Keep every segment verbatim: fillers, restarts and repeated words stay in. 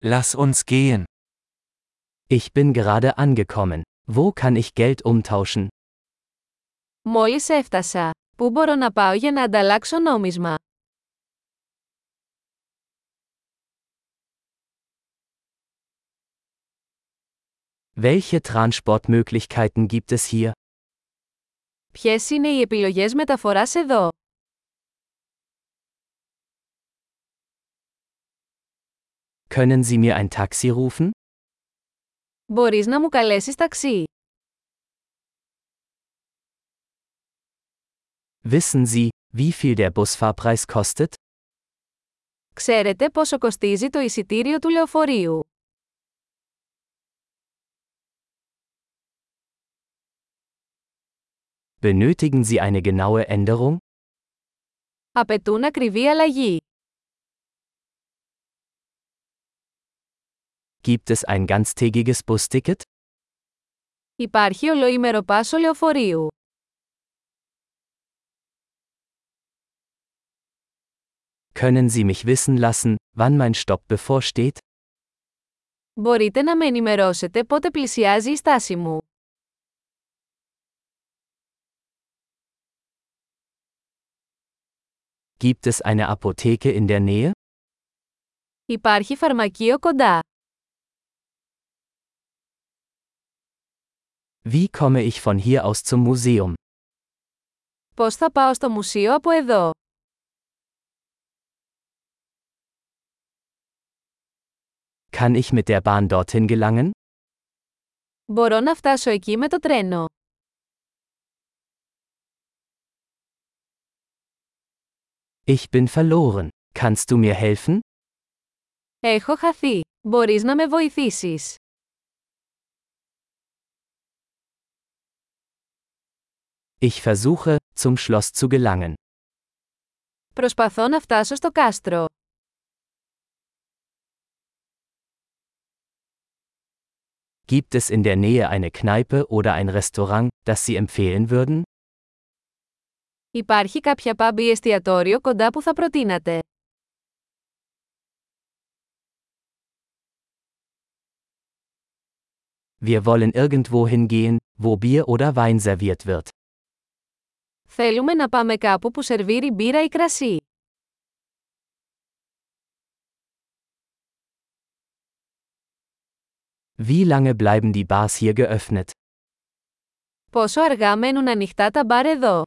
Lass uns gehen. Ich bin gerade angekommen. Wo kann ich Geld umtauschen? Μόλις έφτασα. Πού μπορώ να πάω για να ανταλλάξω νόμισμα? Welche Transportmöglichkeiten gibt es hier? Ποιες είναι οι επιλογές μεταφοράς εδώ? Können Sie mir ein Taxi rufen? Μπορείς να μου καλέσεις ταξί? Wissen Sie, wie viel der Busfahrpreis kostet? Ξέρετε πόσο κοστίζει το εισιτήριο του λεωφορείου? Benötigen Sie eine genaue Änderung? Απαιτούν ακριβή αλλαγή. Gibt es ein ganztägiges Busticket? Υπάρχει ολοήμερο πάσο λεωφορείου. Können Sie mich wissen lassen, wann mein Stopp bevorsteht? Μπορείτε να με ενημερώσετε πότε πλησιάζει η στάση μου? Gibt es eine Apotheke in der Nähe? Υπάρχει φαρμακείο κοντά. Wie komme ich von hier aus zum Museum? Πώς θα πάω στο μουσείο από εδώ? Kann ich mit der Bahn dorthin gelangen? Μπορώ να φτάσω εκεί με το τρένο. Ich bin verloren. Kannst du mir helfen? Έχω χαθεί. Μπορείς να με βοηθήσεις? Ich versuche, zum Schloss zu gelangen. Προσπαθώ να φτάσω στο κάστρο. Gibt es in der Nähe eine Kneipe oder ein Restaurant, das Sie empfehlen würden? Υπάρχει κάποια pub ή εστιατόριο κοντά που θα προτείνατε? Wir wollen irgendwo hingehen, wo Bier oder Wein serviert wird. Θέλουμε να πάμε κάπου που σερβίρει μπύρα ή κρασί. Wie lange bleiben die Bars hier geöffnet? Πόσο αργά μένουν ανοιχτά τα μπαρ εδώ?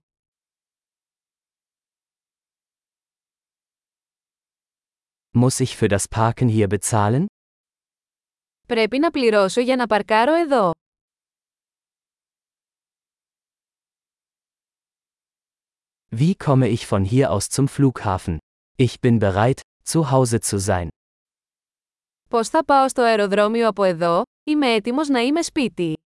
Muss ich für das Parken hier bezahlen? Πρέπει να πληρώσω για να παρκάρω εδώ. Wie komme ich von hier aus zum Flughafen? Ich bin bereit, zu Hause zu sein. Πώς θα πάω στο αεροδρόμιο από εδώ? Είμαι έτοιμος να είμαι σπίτι.